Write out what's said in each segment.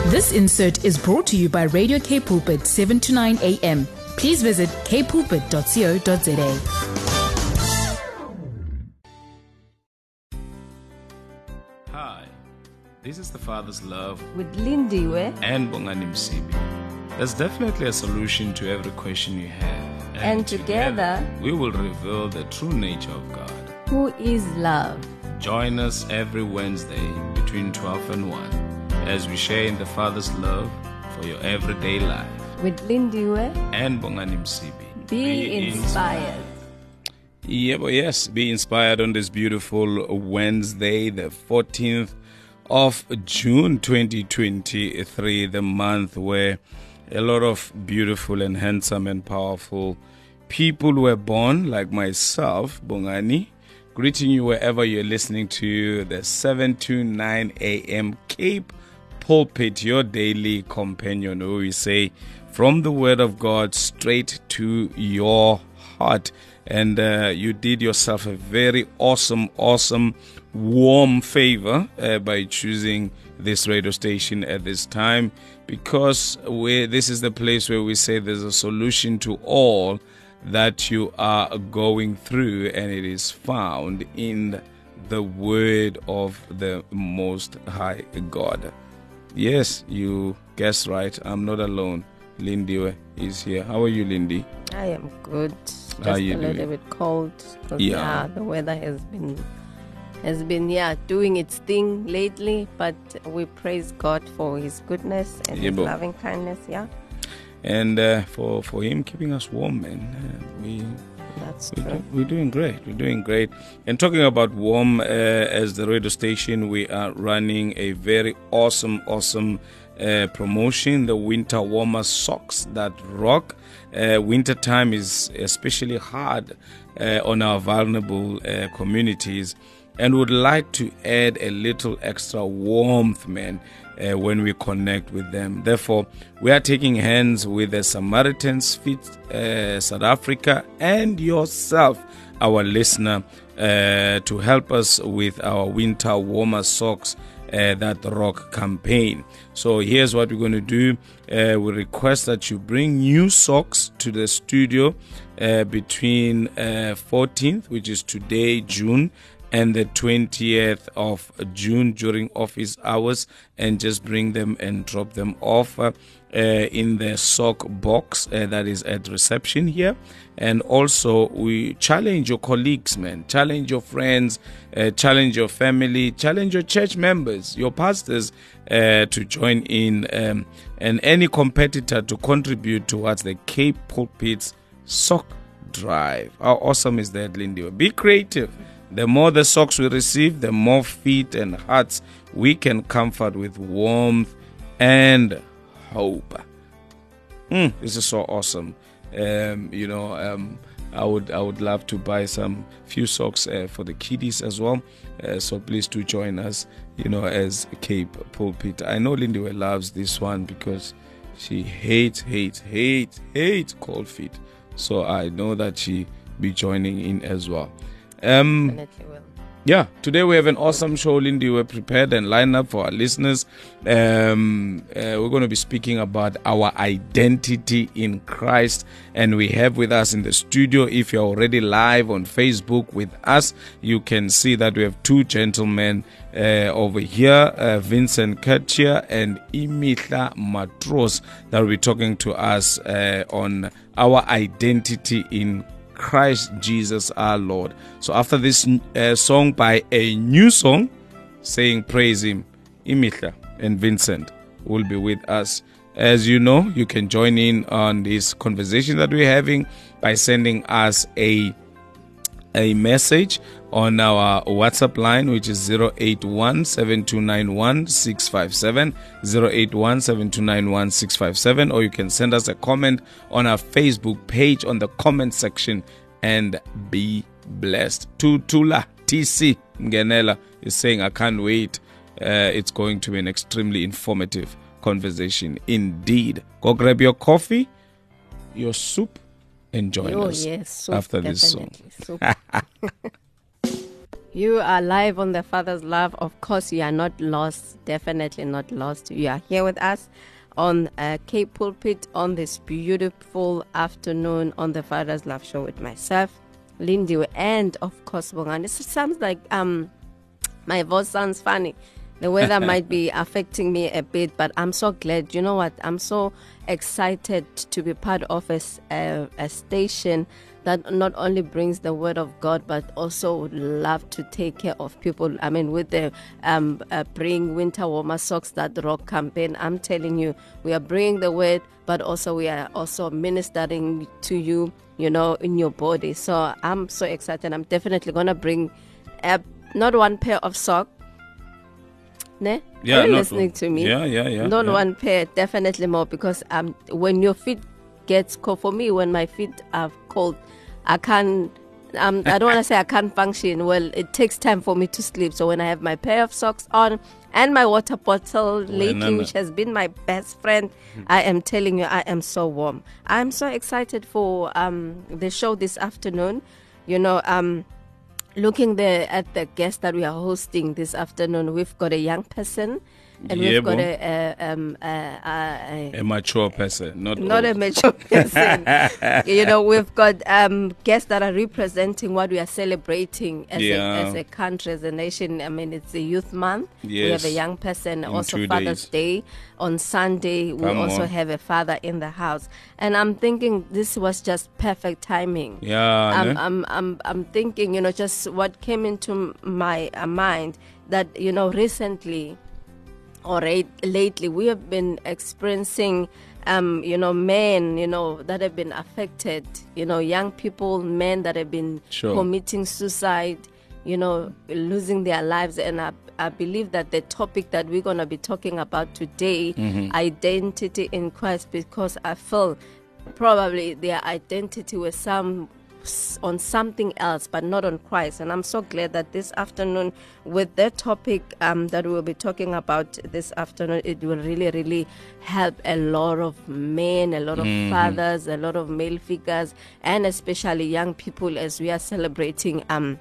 This insert is brought to you by Radio K Pulpit 7 to 9 a.m. Please visit kpulpit.co.za. Hi, this is the Father's Love with Lindiwe and Bongani Msibi. There's definitely a solution to every question you have. And together we will reveal the true nature of God, who is love. Join us every Wednesday between 12 and 1 as we share in the Father's love for your everyday life. With Lindiwe and Bongani Msibi. Be inspired. Yes, be inspired on this beautiful Wednesday, the 14th of June 2023, the month where a lot of beautiful and handsome and powerful people were born, like myself, Bongani. Greeting you wherever you're listening to the 7 to 9 a.m. Cape Pulpit, your daily companion, where we say from the Word of God straight to your heart. And you did yourself a very awesome, warm favor by choosing this radio station at this time, because this is the place where we say there's a solution to all that you are going through, and it is found in the Word of the Most High God. Yes, you guessed right. I'm not alone. Lindy is here. How are you, Lindy? I am good. Just How are you a little doing? bit cold. Yeah. The weather has been doing its thing lately, but we praise God for His goodness and His loving kindness. Yeah. And for Him keeping us warm, man. That's true. We're doing great. We're doing great. And talking about warm, as the radio station, we are running a very awesome promotion, the winter warmer socks that rock. Winter time is especially hard on our vulnerable communities, and would like to add a little extra warmth, man, when we connect with them. Therefore, we are taking hands with the Samaritan's Feet South Africa and yourself, our listener, to help us with our winter warmer socks that rock campaign. So here's what we're going to do. We request that you bring new socks to the studio between 14th, which is today, June, and the 20th of June during office hours, and just bring them and drop them off in the sock box that is at reception here. And also, we challenge your colleagues, man, challenge your friends, challenge your family, challenge your church members, your pastors to join in, and any competitor to contribute towards the Cape Pulpit's sock drive. How awesome is that, Lindy? Be creative. The more the socks we receive, the more feet and hearts we can comfort with warmth and hope. This is so awesome. I would love to buy some few socks for the kiddies as well. So please do join us, as Cape Pulpit. I know Lindy loves this one because she hates cold feet. So I know that she be joining in as well. Definitely will. Yeah, today we have an awesome show, Lindy. We're prepared and lined up for our listeners. We're going to be speaking about our identity in Christ. And we have with us in the studio, if you're already live on Facebook with us, you can see that we have two gentlemen over here, Vincent Katia and Imihla Matros, that will be talking to us on our identity in Christ Jesus our Lord. So after this song by a new song saying praise Him, Imihla and Vincent will be with us. As you know, you can join in on this conversation that we're having by sending us a message on our WhatsApp line, which is 081-7291-657, 081-7291-657, or you can send us a comment on our Facebook page on the comment section and be blessed. Tutula TC Ngenela is saying, I can't wait. It's going to be an extremely informative conversation indeed. Go grab your coffee, your soup, and join us yes, after this song. You are live on the Father's Love. Of course, you are not lost. Definitely not lost. You are here with us on Cape Pulpit on this beautiful afternoon on the Father's Love Show with myself, Lindy, and of course, Bongani. It sounds like my voice sounds funny. The weather might be affecting me a bit, but I'm so glad. You know what? I'm so excited to be part of a station that not only brings the word of God, but also would love to take care of people. I mean, with the Bring Winter Warmer Socks That Rock campaign, I'm telling you, we are bringing the word, but also we are also ministering to you, you know, in your body. So I'm so excited. I'm definitely going to bring not one pair of socks. Ne? Yeah, Are you listening to me? Yeah. Not one pair, definitely more, because when your feet gets cold, for me, when my feet are cold, I can't. I don't want to say I can't function. Well, it takes time for me to sleep. So when I have my pair of socks on and my water bottle lately, which has been my best friend, I am telling you, I am so warm. I'm so excited for the show this afternoon. You know, looking there at the guest that we are hosting this afternoon, we've got a young person and we've got a mature person, not a mature person. You know, we've got guests that are representing what we are celebrating as a country, as a nation. I mean, it's a youth month. Yes. We have a young person, In also 2 Father's Day. On Sunday, we also have a father in the house. And I'm thinking this was just perfect timing. Yeah. I'm thinking, you know, just what came into my mind that, you know, recently or lately we have been experiencing you know, men, you know, that have been affected, you know, young people, men that have been committing suicide, you know, losing their lives. And I believe that the topic that we're going to be talking about today, identity in Christ, because I feel probably their identity was on something else, but not on Christ. And I'm so glad that this afternoon, with the topic that we'll be talking about this afternoon, it will really, really help a lot of men, a lot of fathers, a lot of male figures, and especially young people as we are celebrating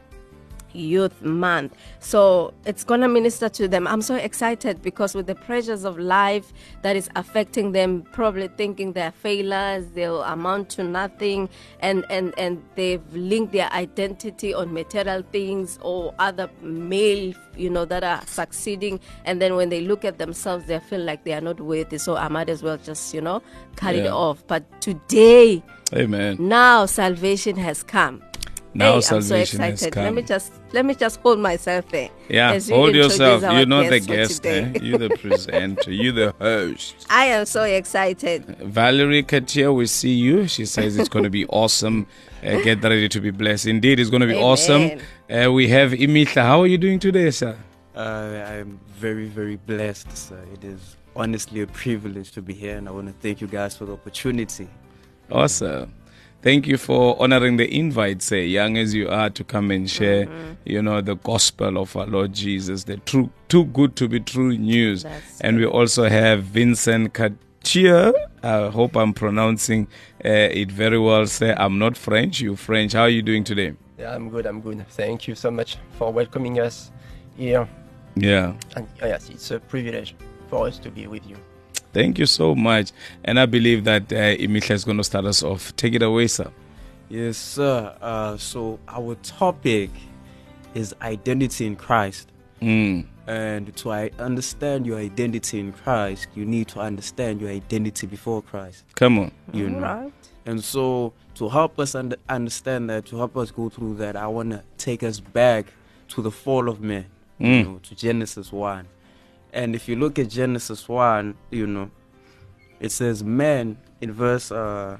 Youth Month. So it's gonna minister to them. I'm so excited because with the pressures of life that is affecting them, probably thinking they're failures, they'll amount to nothing, and they've linked their identity on material things or other male, you know, that are succeeding, and then when they look at themselves, they feel like they are not worthy. So I might as well just, you know, cut it off. But today, amen, now salvation has come. Now I'm salvation so excited. has come. Let me just hold myself there. Yeah, hold yourself. You're not the guest, You're the presenter. You're the host. I am so excited. Valerie Katia, we see you. She says it's going to be awesome. Get ready to be blessed. Indeed, it's going to be awesome. We have Imitla. How are you doing today, sir? I'm very, very blessed, sir. It is honestly a privilege to be here, and I want to thank you guys for the opportunity. Awesome. Thank you for honoring the invite, say, young as you are, to come and share, you know, the gospel of our Lord Jesus, the true, too good to be true news. And we also have Vincent Katia. I hope I'm pronouncing it very well. Say, I'm not French, you French. How are you doing today? Yeah, I'm good. Thank you so much for welcoming us here. Yeah. And yes, it's a privilege for us to be with you. Thank you so much. And I believe that Imitla is going to start us off. Take it away, sir. Yes, sir. So our topic is identity in Christ. And to understand your identity in Christ, you need to understand your identity before Christ. Come on. You know. Right. And so to help us understand that, to help us go through that, I want to take us back to the fall of man, you know, to Genesis 1. And if you look at Genesis 1, you know, it says man in verse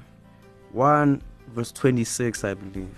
1, verse 26, I believe.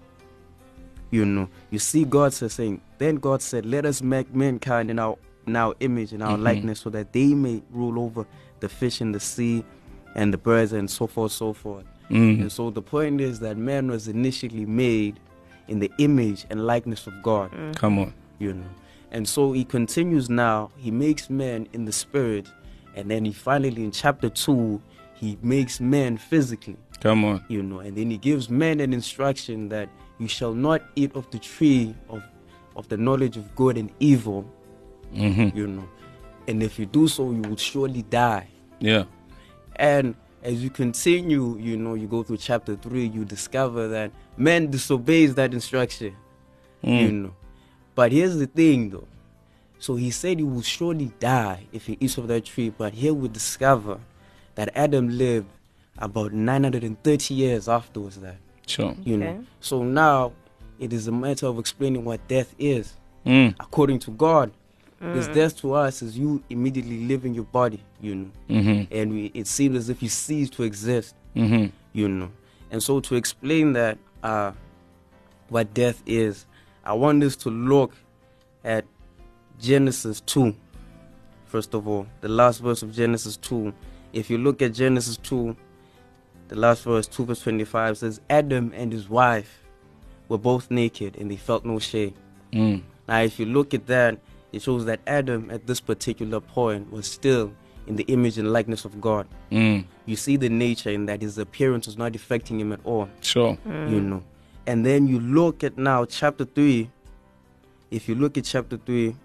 You know, you see God saying, then God said, let us make mankind in our image, in our likeness, so that they may rule over the fish in the sea and the birds and so forth, so forth. And so the point is that man was initially made in the image and likeness of God. Come on. You know. And so he continues now, he makes man in the spirit, and then he finally, in chapter 2, he makes man physically. Come on. You know, and then he gives man an instruction that you shall not eat of the tree of of the knowledge of good and evil, Mm-hmm. you know, and if you do so, you will surely die. Yeah. And as you continue, you know, you go through chapter 3, you discover that man disobeys that instruction, you know. But here's the thing, though. So he said he will surely die if he eats of that tree. But here we discover that Adam lived about 930 years afterwards that, Sure. you Okay. know. So now it is a matter of explaining what death is. Mm. According to God, because death to us is you immediately leaving your body, you know. Mm-hmm. And it seems as if you cease to exist, Mm-hmm. you know. And so to explain that, what death is, I want us to look at Genesis 2. First of all, the last verse of Genesis 2. If you look at Genesis 2, the last verse, 2 verse 25, says, Adam and his wife were both naked and they felt no shame. Mm. Now, if you look at that, it shows that Adam at this particular point was still in the image and likeness of God. Mm. You see the nature in that his appearance was not affecting him at all, Sure. you know. And then you look at now chapter 3. If you look at chapter 3,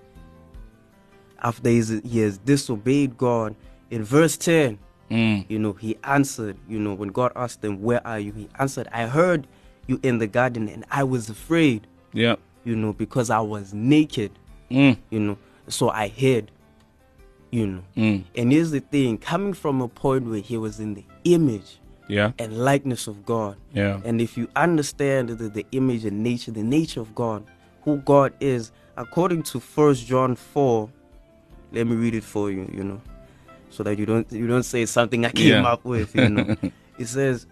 after he has disobeyed God, in verse 10, Mm. you know, he answered, you know, when God asked him, where are you? He answered, I heard you in the garden and I was afraid, Yeah. you know, because I was naked, Mm. you know, so I hid, you know. Mm. And here's the thing, coming from a point where he was in the image Yeah. and likeness of God. Yeah. And if you understand the image and nature, the nature of God, who God is, according to 1 John 4, let me read it for you, you know, so that you don't say something I came Yeah. up with, you know. It says,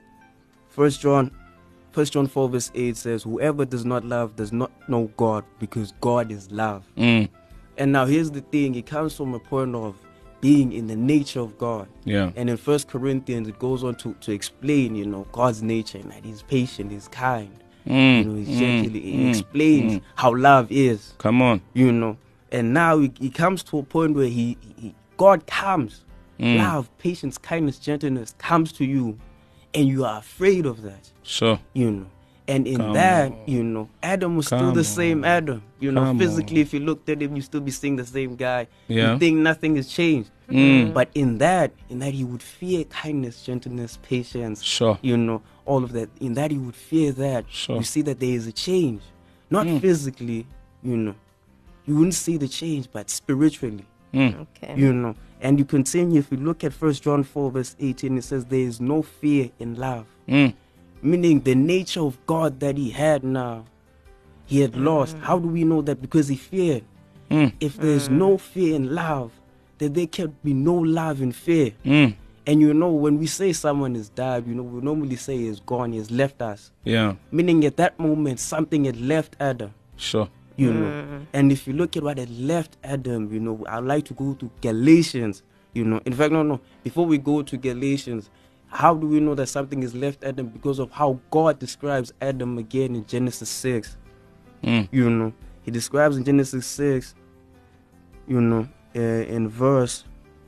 1 John 4 verse 8 says, whoever does not love does not know God, because God is love. Mm. And now here's the thing, it comes from a point of being in the nature of God. Yeah. And in 1 Corinthians, it goes on to explain, you know, God's nature, and that he's patient, he's kind, Mm. you know, he's gentle. It explains how love is, Come on. you know. And now he comes to a point where God comes, love, patience, kindness, gentleness comes to you, and you are afraid of that, Sure. you know. And in Come that, on. you know, Adam was still Come the same on. Adam. You know, Come physically, on. if you looked at him, you still be seeing the same guy. Yeah. You think nothing has changed. Mm. But in that he would fear kindness, gentleness, patience, Sure. you know, all of that. In that he would fear that. Sure. You see that there is a change. Not physically, you know. You wouldn't see the change, but spiritually, Mm. Okay. you know. And you continue, if you look at 1 John 4 verse 18, it says there is no fear in love. Mm. Meaning the nature of God that he had now, he had lost. How do we know that? Because he feared. Mm. If there's no fear in love, then there can be no love in fear. Mm. And you know, when we say someone has died, you know, we normally say he is gone, he has left us. Yeah. Meaning at that moment, something had left Adam, Sure. you know. And if you look at what had left Adam, you know, I'd like to go to Galatians, you know. In fact, no. Before we go to Galatians, how do we know that something has left Adam? Because of how God describes Adam again in Genesis 6. Mm. You know, he describes in Genesis 6, you know, in verse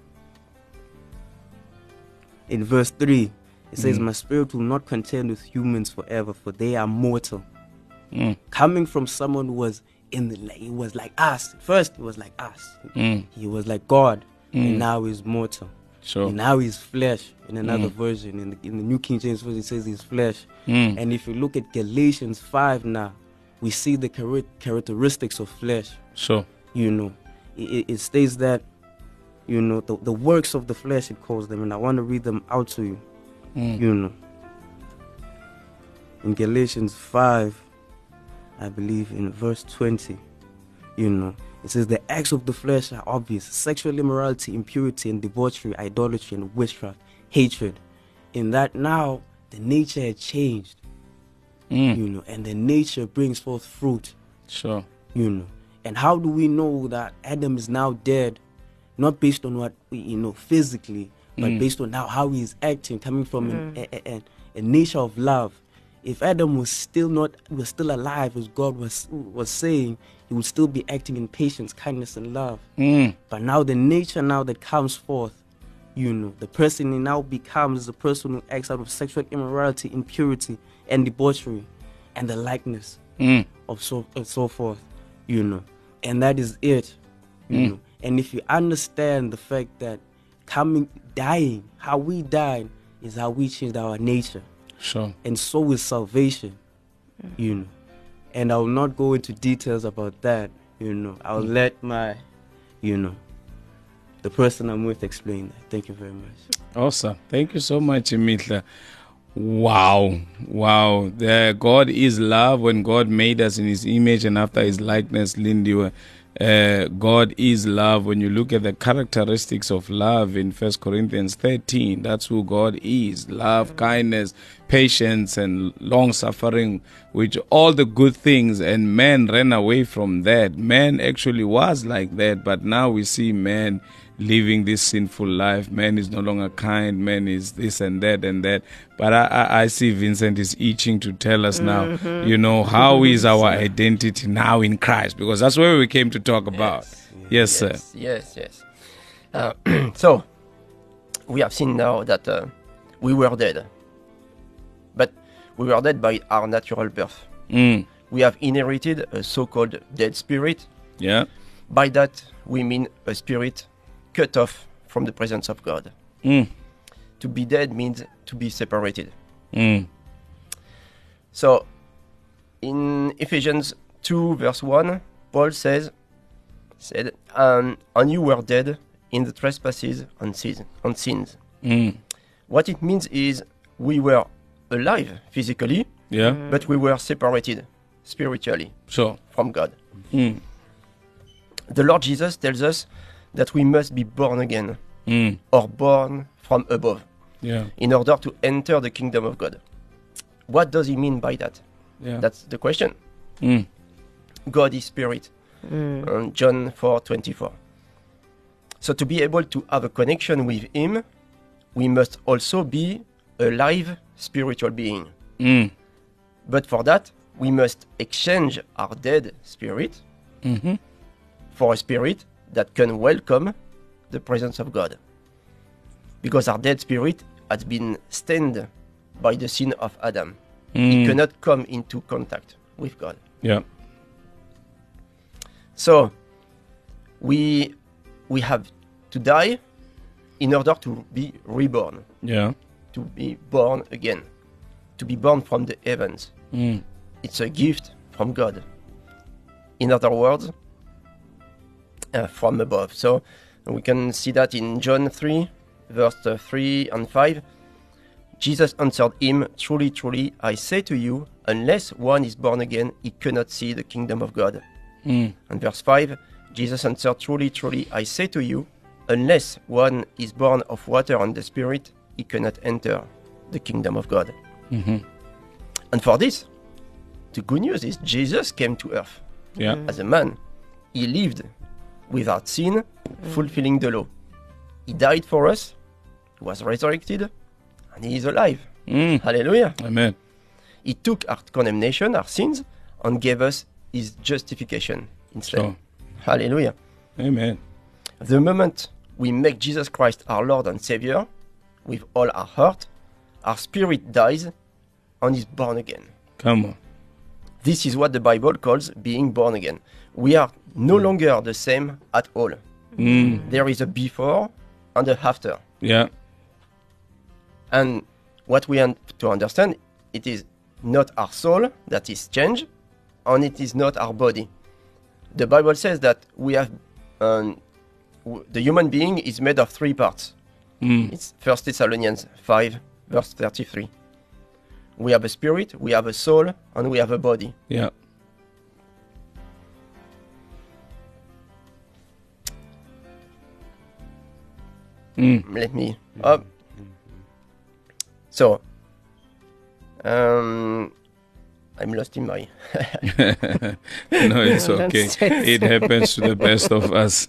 3, it says, my spirit will not contend with humans forever, for they are mortal. Mm. Coming from someone who was he was like us. First, he was like us. Mm. He was like God, and now he's mortal. Sure. And now he's flesh. In another version, in the New King James Version, it says he's flesh. Mm. And if you look at Galatians 5 now, we see the characteristics of flesh. Sure. You know, it states that, you know, the works of the flesh, it calls them, and I want to read them out to you. You know, in Galatians 5, I believe in verse 20, you know, it says the acts of the flesh are obvious: sexual immorality, impurity and debauchery, idolatry and witchcraft, hatred. In that now the nature had changed, you know, and the nature brings forth fruit, Sure. you know. And how do we know that Adam is now dead? Not based on what, you know, physically, but based on how he is acting, coming from a nature of love. If Adam was still alive, as God was saying, he would still be acting in patience, kindness, and love. But now the nature now that comes forth, you know, the person he now becomes the person who acts out of sexual immorality, impurity, and debauchery, and the likeness of so and so forth, you know. And that is it, you know. And if you understand the fact that dying, how we died is how we changed our nature. Sure. And so is salvation, you know. And I will not go into details about that, you know. I'll let my, you know, the person I'm with explain that. Thank you very much. Awesome. Thank you so much, Mitla. Wow. God is love. When God made us in his image and after his likeness, Lindy, God is love. When you look at the characteristics of love in 1 Corinthians 13, that's who God is. Love, kindness, patience, and long-suffering, which all the good things, and man ran away from that. Man actually was like that, but now we see man living this sinful life. Man is no longer kind. Man is this and that and that. But I see Vincent is itching to tell us now, you know, how is our identity now in Christ? Because that's where we came to talk about. Yes, sir. Yes. So, we have seen now that we were dead. But we were dead by our natural birth. We have inherited a so-called dead spirit. Yeah. By that, we mean a spirit cut off from the presence of God. To be dead means to be separated. So, in Ephesians 2 verse 1, Paul said, and you were dead in the trespasses and sins. What it means is we were alive physically, but we were separated spiritually from God. The Lord Jesus tells us that we must be born again or born from above in order to enter the kingdom of God. What does he mean by that? That's the question. God is spirit. John 4:24. So to be able to have a connection with him, we must also be a live spiritual being. But for that, we must exchange our dead spirit for a spirit that can welcome the presence of God. Because our dead spirit has been stained by the sin of Adam. It cannot come into contact with God. So, we have to die in order to be reborn. To be born again. To be born from the heavens. It's a gift from God. In other words, from above. So we can see that in John 3, verse 3 and 5. Jesus answered him, "Truly, truly, I say to you, unless one is born again, he cannot see the kingdom of God." And verse 5, Jesus answered, "Truly, truly, I say to you, unless one is born of water and the Spirit, he cannot enter the kingdom of God." And for this, the good news is Jesus came to earth as a man. He lived without sin, fulfilling the law. He died for us, was resurrected, and he is alive. Hallelujah. Amen. He took our condemnation, our sins, and gave us his justification instead. Hallelujah. Amen. The moment we make Jesus Christ our Lord and Savior with all our heart, our spirit dies and is born again. Come on. This is what the Bible calls being born again. We are no longer the same at all. There is a before and a after. And what we have to understand, it is not our soul that is changed, and it is not our body. The Bible says that we have the human being is made of three parts. It's 1 Thessalonians 5, verse 33. We have a spirit, we have a soul, and we have a body. Let me up. So, I'm lost in my. No, it's okay. It happens to the best of us.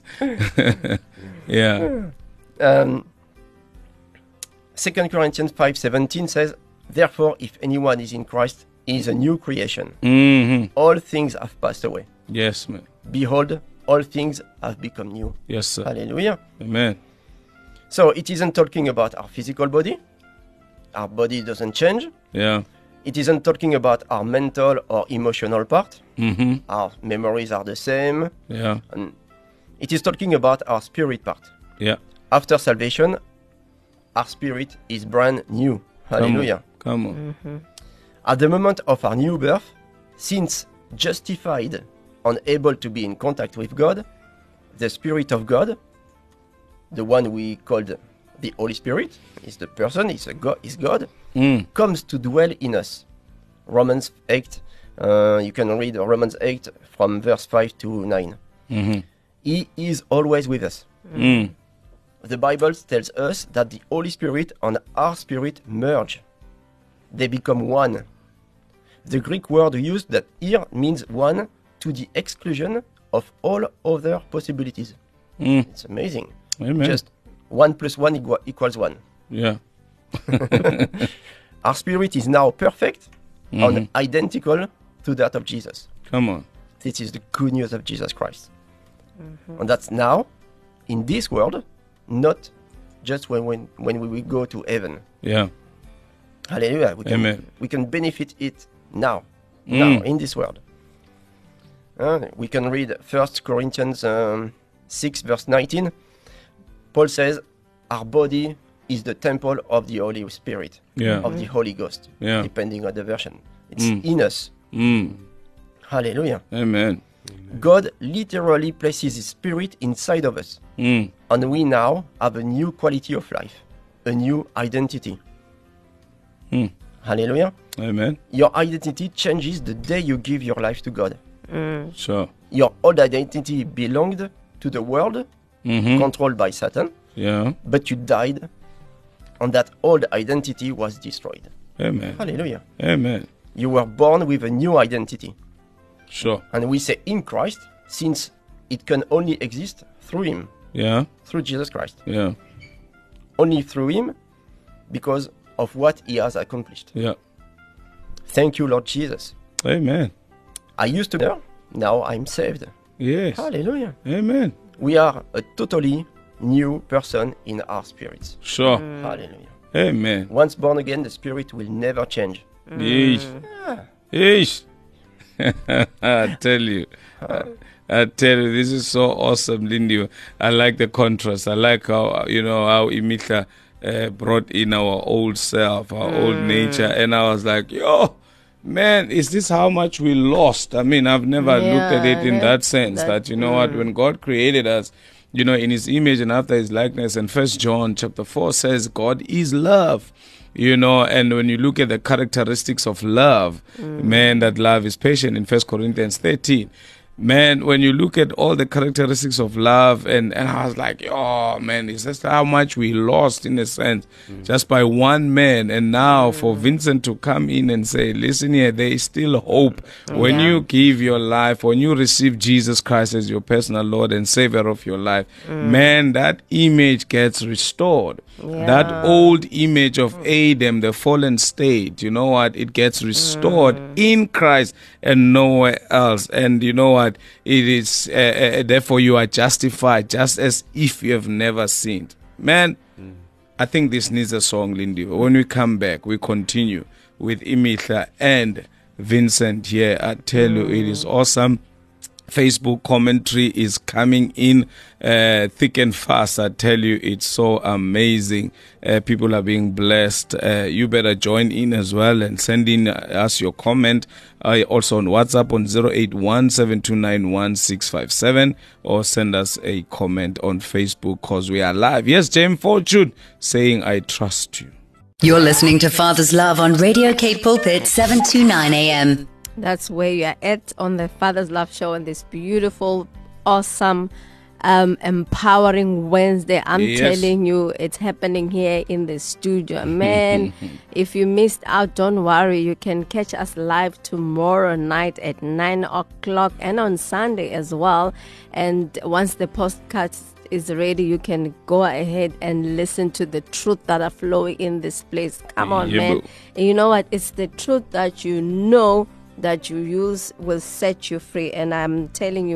2 Corinthians 5:17 says, "Therefore, if anyone is in Christ, he is a new creation. All things have passed away. Yes, man. Behold, all things have become new." Yes, sir. Hallelujah. Amen. So it isn't talking about our physical body. Our body doesn't change. It isn't talking about our mental or emotional part. Mm-hmm. Our memories are the same. Yeah. And it is talking about our spirit part. Yeah. After salvation, our spirit is brand new. Hallelujah. Come on. At the moment of our new birth, since justified and able to be in contact with God, the Spirit of God, the one we called the Holy Spirit, is the person, is God, comes to dwell in us. Romans 8, you can read Romans 8 from verse 5 to 9. Mm-hmm. He is always with us. The Bible tells us that the Holy Spirit and our spirit merge. They become one. The Greek word used that here means one to the exclusion of all other possibilities. It's amazing. Amen. Just 1 + 1 equals 1. Yeah. Our spirit is now perfect and identical to that of Jesus. Come on. This is the good news of Jesus Christ. And that's now in this world, not just when we will go to heaven. Yeah. Hallelujah. Amen. We can benefit it now in this world. We can read 1 Corinthians 6 verse 19. Paul says, our body is the temple of the Holy Spirit, of the Holy Ghost, depending on the version. It's in us. Hallelujah. Amen. God literally places His Spirit inside of us. And we now have a new quality of life, a new identity. Hallelujah. Amen. Your identity changes the day you give your life to God. Sure. Your old identity belonged to the world, controlled by Satan. Yeah. But you died, and that old identity was destroyed. Amen. Hallelujah. Amen. You were born with a new identity. Sure. And we say in Christ, since it can only exist through Him. Yeah. Through Jesus Christ. Yeah. Only through Him, because of what He has accomplished. Yeah. Thank you, Lord Jesus. Amen. I used to know, now I'm saved. Yes. Hallelujah. Amen. We are a totally new person in our spirits. Sure. Hallelujah. Amen. Once born again, the spirit will never change. Yeesh. Yeesh. I tell you. I tell you, this is so awesome, Lindy. I like the contrast. I like how, how Imitha brought in our old self, our old nature. And I was like, yo, man, is this how much we lost? I mean, I've never looked at it in that sense that what, when God created us, in His image and after His likeness, and 1 John chapter 4 says God is love. And when you look at the characteristics of love, man, that love is patient in 1 Corinthians 13. Man, when you look at all the characteristics of love, and I was like, oh, man, it's just how much we lost in a sense, just by one man. And now for Vincent to come in and say, listen here, there is still hope. When you give your life, when you receive Jesus Christ as your personal Lord and Savior of your life, man, that image gets restored. That old image of Adam, the fallen state, it gets restored in Christ and nowhere else. And you know what? It is, therefore you are justified just as if you have never sinned. Man, I think this needs a song, Lindy. When we come back, we continue with Imitha and Vincent here. I tell you, it is awesome. Facebook commentary is coming in thick and fast. I tell you, it's so amazing. People are being blessed. You better join in as well and send in us your comment. Also on WhatsApp on 081-729-1657 or send us a comment on Facebook because we are live. Yes, James Fortune saying, I trust you. You're listening to Father's Love on Radio K Pulpit 729 AM. That's where you are at on the Father's Love Show on this beautiful, awesome, empowering Wednesday. I'm telling you, it's happening here in the studio. Man, if you missed out, don't worry. You can catch us live tomorrow night at 9 o'clock and on Sunday as well. And once the podcast is ready, you can go ahead and listen to the truth that are flowing in this place. Come on, man. And you know what? It's the truth that that you use will set you free. And I'm telling you,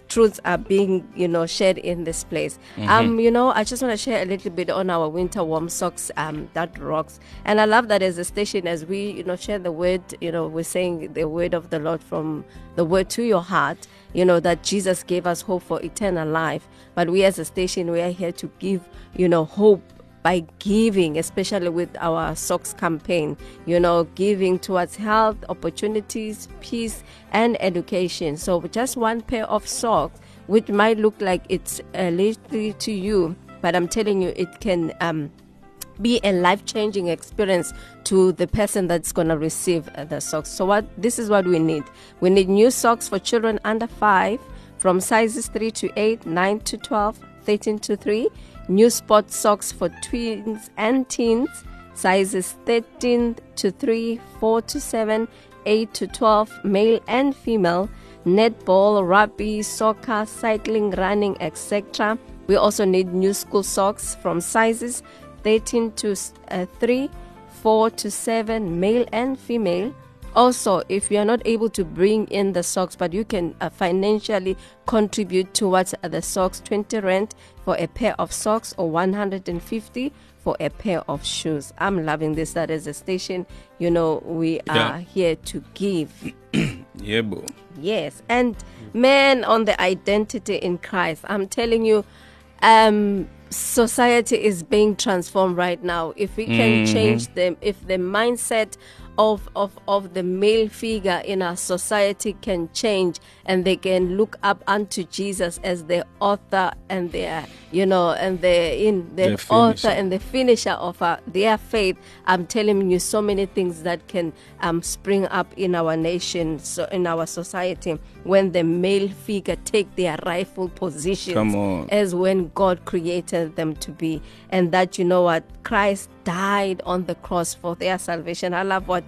truths are being, shared in this place. I just want to share a little bit on our winter warm socks that rocks. And I love that as a station, as we, share the word, we're saying the word of the Lord from the word to your heart, that Jesus gave us hope for eternal life. But we as a station, we are here to give, hope by giving, especially with our socks campaign, giving towards health, opportunities, peace, and education. So just one pair of socks, which might look like it's little to you, but I'm telling you, it can be a life-changing experience to the person that's going to receive the socks. So this is what we need. We need new socks for children under 5 from sizes 3 to 8, 9 to 12, 13 to 3. New sport socks for tweens and teens, sizes 13 to 3, 4 to 7, 8 to 12, male and female. Netball, rugby, soccer, cycling, running, etc. We also need new school socks from sizes 13 to 3, 4 to 7, male and female. Also, if you are not able to bring in the socks, but you can financially contribute towards the socks, 20 rand for a pair of socks or 150 for a pair of shoes. I'm loving this. That is a station, we are here to give. Yeah, boo. Yes. And man, on the identity in Christ, I'm telling you, society is being transformed right now. If we can change them, if the mindset of the male figure in our society can change, and they can look up unto Jesus as the author and their author and the finisher of their faith. I'm telling you, so many things that can spring up in our nation, so in our society, when the male figure take their rightful positions as when God created them to be. And that, Christ died on the cross for their salvation. I love what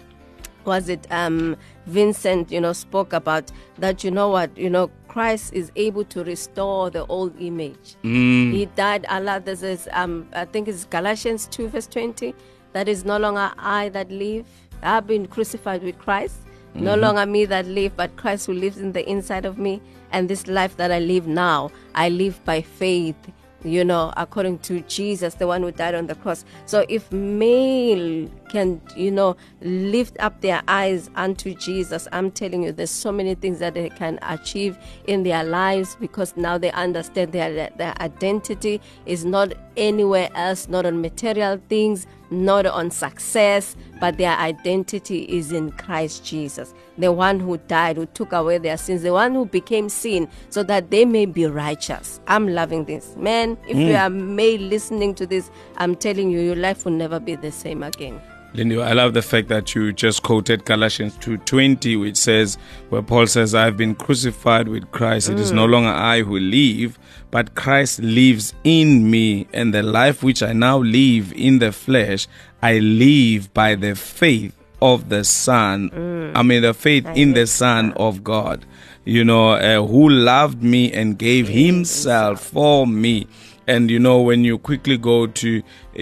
Vincent spoke about, that Christ is able to restore the old image. He died. Allah, this is I think it's Galatians 2 verse 20, that is no longer I that live, I've been crucified with Christ. No longer me that live, but Christ who lives in the inside of me. And this life that I live now, I live by faith, according to Jesus, the one who died on the cross. So if male can, lift up their eyes unto Jesus, I'm telling you, there's so many things that they can achieve in their lives, because now they understand their identity is not anywhere else, not on material things, not on success, but their identity is in Christ Jesus, the one who died, who took away their sins, the one who became sin so that they may be righteous. I'm loving this. Man, if you are male listening to this, I'm telling you, your life will never be the same again. Lindy, I love the fact that you just quoted Galatians 2:20, which says, where Paul says, I've been crucified with Christ. It is no longer I who live, but Christ lives in me. And the life which I now live in the flesh, I live by the faith of the Son. The faith in the Son of God, who loved me and gave himself for me. And, when you quickly go to,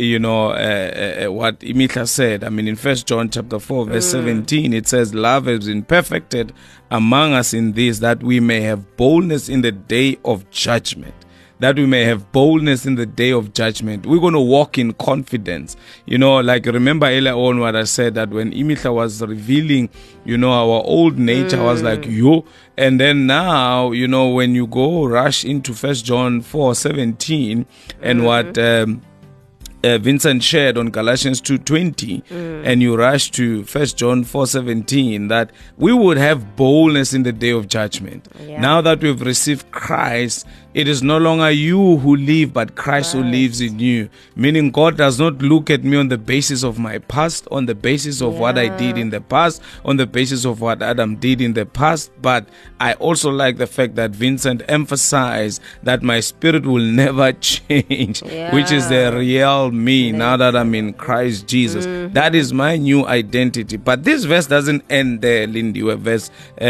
what Imitla said, in 1 John chapter 4, verse 17, it says, love has been perfected among us in this, that we may have boldness in the day of judgment. That we may have boldness in the day of judgment. We're going to walk in confidence. Remember earlier on what I said, that when Imitla was revealing, our old nature, I was like, yo. And then now, when you go rush into 1 John 4:17 and what Vincent shared on Galatians 2:20, and you rush to 1 John 4:17, that we would have boldness in the day of judgment. Yeah. Now that we've received Christ, it is no longer you who live, but Christ who lives in you. Meaning God does not look at me on the basis of my past, on the basis of what I did in the past, on the basis of what Adam did in the past. But I also like the fact that Vincent emphasized that my spirit will never change, which is the real me now that I'm in Christ Jesus. That is my new identity. But this verse doesn't end there, Lindy. Verse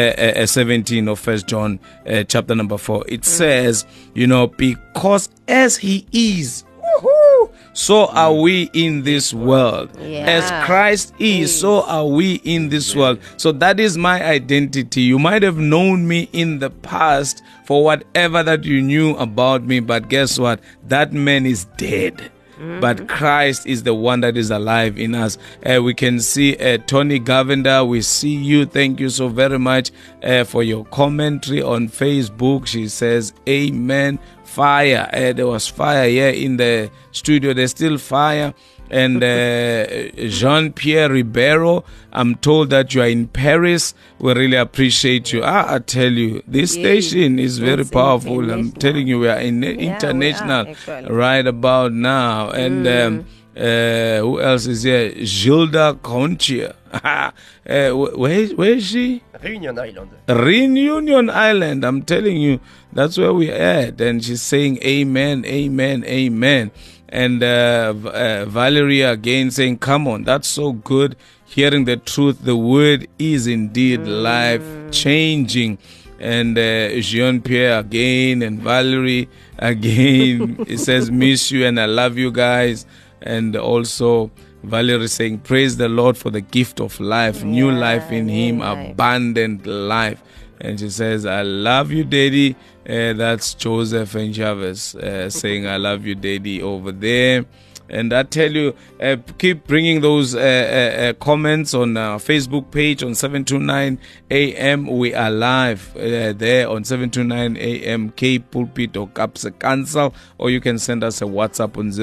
17 of 1 John chapter number 4. It says, because as he is. Woohoo! so are we in this world. As Christ is, so are we in this world. So that is my identity. You might have known me in the past for whatever that you knew about me, but guess what? That man is dead. But Christ is the one that is alive in us. We can see Tony Govender. We see you. Thank you so very much for your commentary on Facebook. She says, amen. Fire. There was fire here in the studio. There's still fire. And Jean-Pierre Ribeiro, I'm told that you are in Paris. We really appreciate you. I tell you, this station is very powerful. I'm telling you, we are international right about now. And who else is here? Gilda Conchia. Where is she? Reunion Island. Reunion Island. I'm telling you, that's where we're at. And she's saying amen, amen, amen. And Valerie again saying, come on, that's so good. Hearing the truth, the word is indeed life-changing. And Jean-Pierre again, and Valerie again. It says, miss you and I love you guys. And also Valerie saying, praise the Lord for the gift of life, new life in him, abundant life. And she says, I love you, Daddy. That's Joseph and Chavez saying, I love you, Daddy, over there. And I tell you, keep bringing those comments on our Facebook page on 729 AM. We are live there on 729 AM, K Pulpit or Kapse Council. Or you can send us a WhatsApp on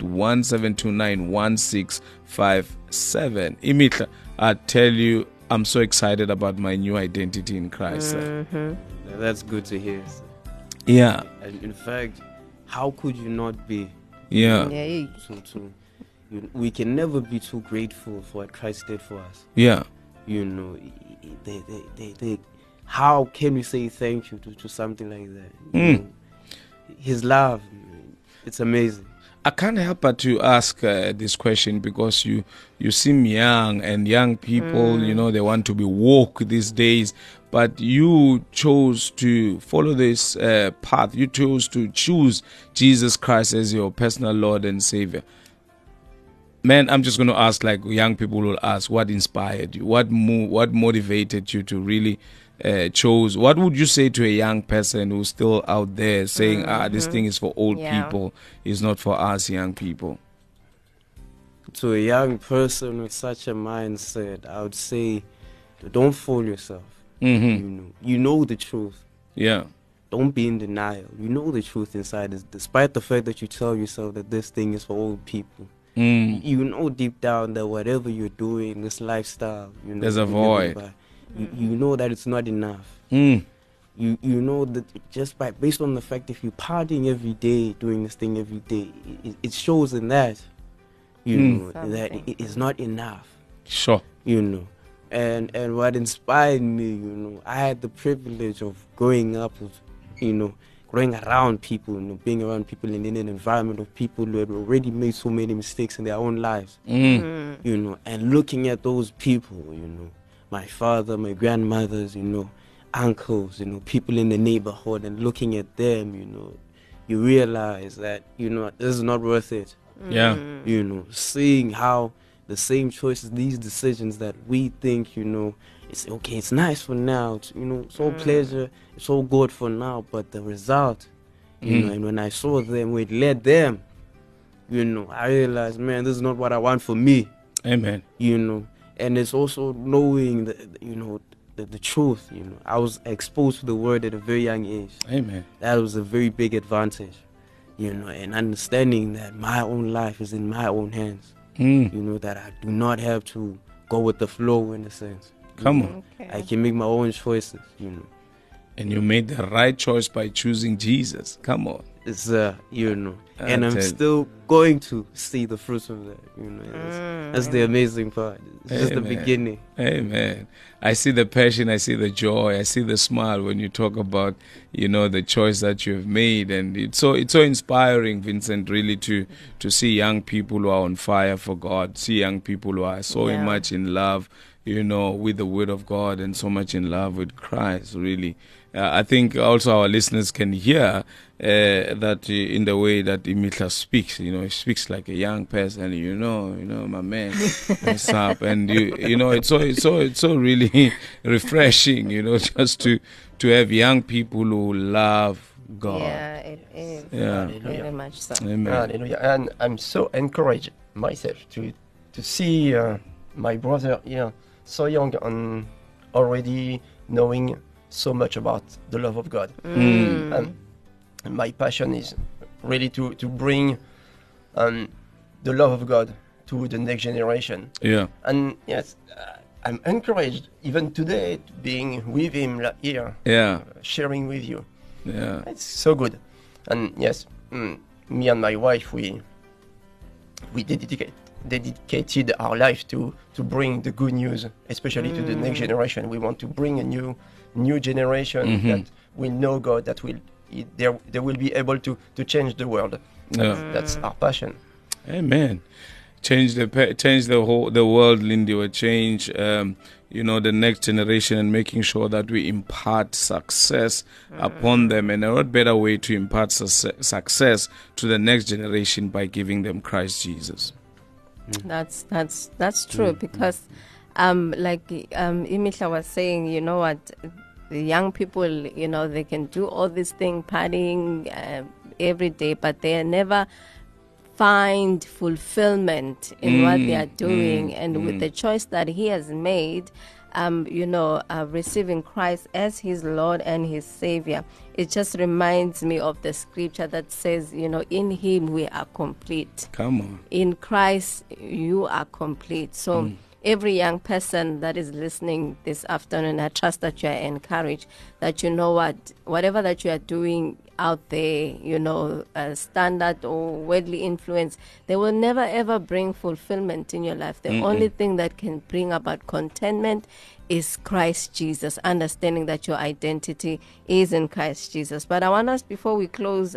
0817291657. Imitla, I tell you, I'm so excited about my new identity in Christ. That's good to hear. Yeah. And in fact, how could you not be? Yeah. We can never be too grateful for what Christ did for us. Yeah. You know, how can we say thank you to something like that? You know, his love, it's amazing. I can't help but to ask this question because you seem young, and young people, you know, they want to be woke these days. But you chose to follow this path. You chose to choose Jesus Christ as your personal Lord and Savior. Man, I'm just going to ask, like young people will ask, what inspired you? What motivated you to really chose? What would you say to a young person who's still out there saying, this thing is for old people, it's not for us young people? To a young person with such a mindset, I would say, don't fool yourself. You know the truth. Yeah. Don't be in denial. You know the truth inside, despite the fact that you tell yourself that this thing is for old people. You know deep down that whatever you're doing, this lifestyle, you know, there's a void. You know that it's not enough. You know that just based on the fact if you're partying every day, doing this thing every day, it shows in that, you know, that it is not enough. Sure. You know. And what inspired me, you know, I had the privilege of growing up with, you know, growing around people, you know, being around people in an environment of people who had already made so many mistakes in their own lives, you know, and looking at those people, you know, my father, my grandmothers, you know, uncles, you know, people in the neighborhood, and looking at them, you know, you realize that, you know, this is not worth it. Yeah. You know, seeing how the same choices, these decisions that we think, you know, it's okay, it's nice for now, it's, you know, it's all pleasure, it's all good for now, but the result, you know, and when I saw them, we led them, you know, I realized, man, this is not what I want for me. Amen. You know, and it's also knowing that, you know, the truth, you know. I was exposed to the word at a very young age. Amen. That was a very big advantage, you know, and understanding that my own life is in my own hands. You know, that I do not have to go with the flow in a sense. Come on. I can make my own choices, you know. And you made the right choice by choosing Jesus. Come on. It's, you know, and I'm still going to see the fruits of that, you know. That's the amazing part. It's just the beginning. Amen. I see the passion, I see the joy, I see the smile when you talk about, you know, the choice that you've made. And it's so inspiring, Vincent, really to see young people who are on fire for God, see young people who are so much in love, you know, with the word of God and so much in love with Christ, really. I think also our listeners can hear that in the way that Imihla speaks. You know, he speaks like a young person. You know, my man, what's up? And it's so really refreshing. You know, just to have young people who love God. Yeah, it is. Yeah, very much so. Amen. Hallelujah. And I'm so encouraged myself to see my brother here so young and already knowing so much about the love of God. And my passion is really to bring the love of God to the next generation. Yeah. And yes, I'm encouraged even today being with him here, sharing with you. Yeah. It's so good. And yes, me and my wife, we dedicated our life to bring the good news, especially to the next generation. We want to bring a new generation that will know God, that they will be able to change the world. That's our passion. Amen. Change the world, Lindy, or change the next generation, and making sure that we impart success upon them. And what better way to impart success to the next generation by giving them Christ Jesus. That's true, because like Imihla was saying, you know what, the young people, they can do all this thing, partying every day, but they never find fulfillment in what they are doing. And with the choice that he has made, receiving Christ as his Lord and his Savior, it just reminds me of the scripture that says, in him we are complete. Come on. In Christ you are complete. So every young person that is listening this afternoon, I trust that you are encouraged, that whatever that you are doing out there, standard or worldly influence, they will never ever bring fulfillment in your life. The only thing that can bring about contentment is Christ Jesus, understanding that your identity is in Christ Jesus. But I want us, before we close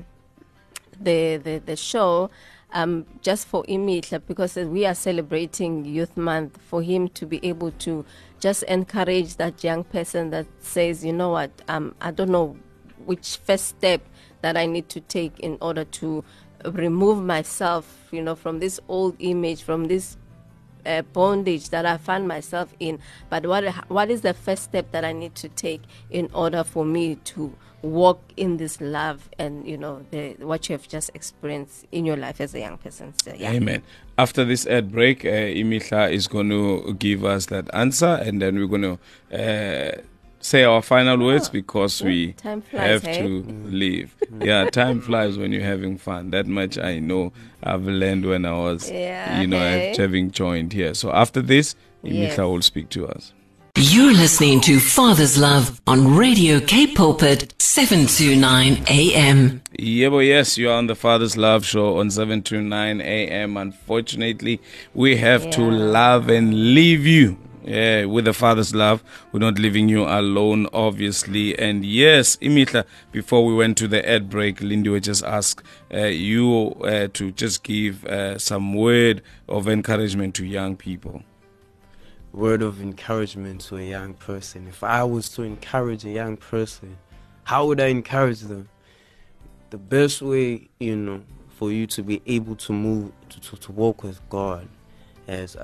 the show, just for Imihla, because we are celebrating Youth Month, for him to be able to just encourage that young person that says, you know what, I don't know which first step that I need to take in order to remove myself, from this old image, from this bondage that I find myself in. But what is the first step that I need to take in order for me to walk in this love and what you have just experienced in your life as a young person? So, yeah. Amen. After this ad break, Imihla is going to give us that answer, and then we're going to say our final words, because we have to leave. Yeah, time flies when you're having fun. That much I know. I've learned when I was, having joined here. So after this, Imihla will speak to us. You're listening to Father's Love on Radio K Pulpit 729 AM. Yes, you are on the Father's Love show on 729 AM. Unfortunately, we have to love and leave you. Yeah, with the Father's love, we're not leaving you alone, obviously. And yes, Imihla, before we went to the ad break, Lindy would just ask you to just give some word of encouragement to young people. Word of encouragement to a young person. If I was to encourage a young person, how would I encourage them? The best way, for you to be able to move, to walk with God, as,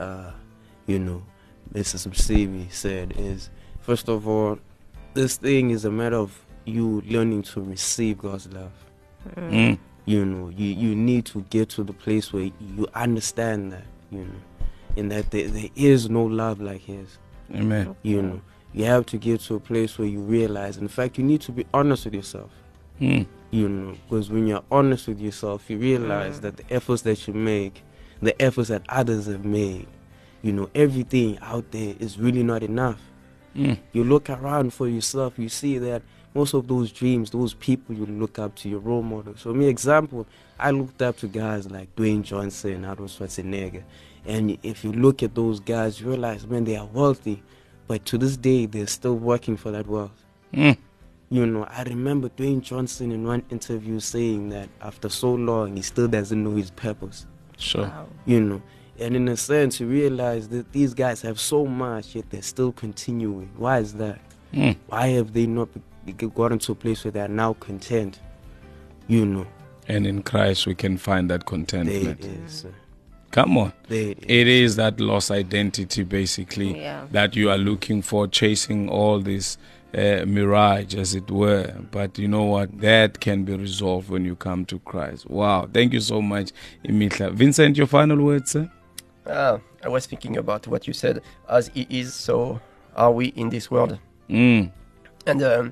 Mrs. Msibi said, is, first of all, this thing is a matter of you learning to receive God's love. You need to get to the place where you understand that, and that there is no love like his. Amen. You have to get to a place where you realize, in fact, you need to be honest with yourself. Because when you're honest with yourself, you realize that the efforts that you make, the efforts that others have made, everything out there is really not enough. You look around for yourself, you see that most of those dreams, those people you look up to, your role models. For me, example, I looked up to guys like Dwayne Johnson, Arnold Schwarzenegger. And if you look at those guys, you realize, man, they are wealthy. But to this day, they're still working for that wealth. I remember Dwayne Johnson in one interview saying that after so long, he still doesn't know his purpose. Sure. Wow. And in a sense, you realize that these guys have so much, yet they're still continuing. Why is that? Why have they not, got into a place where they are now content, you know. And in Christ we can find that contentment. There it is. Come on. There It is that lost identity, basically, that you are looking for, chasing all this mirage, as it were. But you know what? That can be resolved when you come to Christ. Wow. Thank you so much, Imitla. Vincent, your final words, sir? I was thinking about what you said. As He is, so are we in this world. Mm. And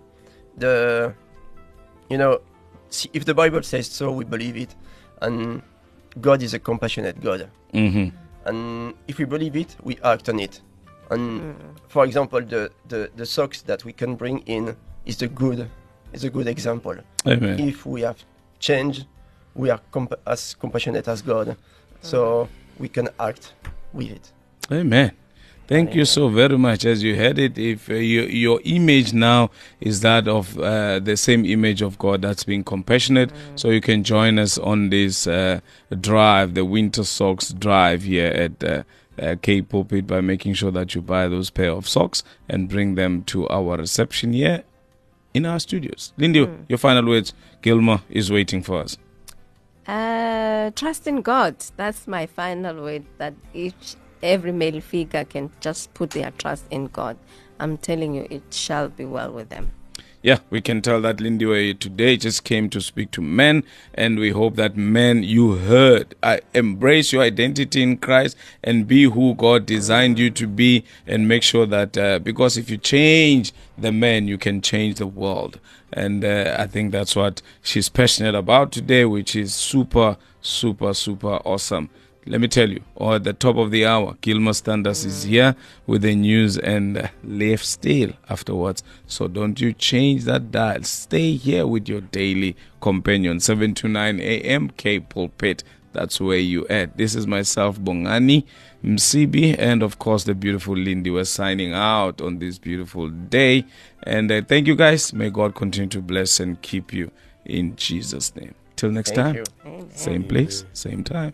see, if the Bible says so, we believe it. And God is a compassionate God. Mm-hmm. And if we believe it, we act on it. And for example, the socks that we can bring in is a good example. Amen. If we have changed, we are as compassionate as God. So we can act with it. Amen. Thank you so very much. As you heard it, if your image now is that of the same image of God that's being compassionate, so you can join us on this drive, the Winter Socks Drive here at Cape Pulpit, by making sure that you buy those pair of socks and bring them to our reception here in our studios. Lindy, your final words. Gilma is waiting for us. Trust in God. That's my final word, that every male figure can just put their trust in God. I'm telling you, it shall be well with them. Yeah, we can tell that Lindy today just came to speak to men, and we hope that men, you heard, embrace your identity in Christ and be who God designed you to be, and make sure that because if you change the men, you can change the world. And I think that's what she's passionate about today, which is super, super, super awesome. Let me tell you, at the top of the hour, Gilma Standas is here with the news and left still afterwards. So don't you change that dial. Stay here with your daily companion, 7 to 9 a.m. Cape Pulpit. That's where you at. This is myself, Bongani Msibi, and of course the beautiful Lindy. We're signing out on this beautiful day. And thank you guys. May God continue to bless and keep you in Jesus' name. Till next time, same place, same time.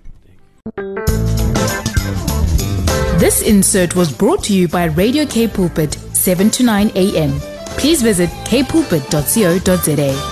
This insert was brought to you by Radio Cape Pulpit, 7 to 9 a.m. Please visit kpulpit.co.za.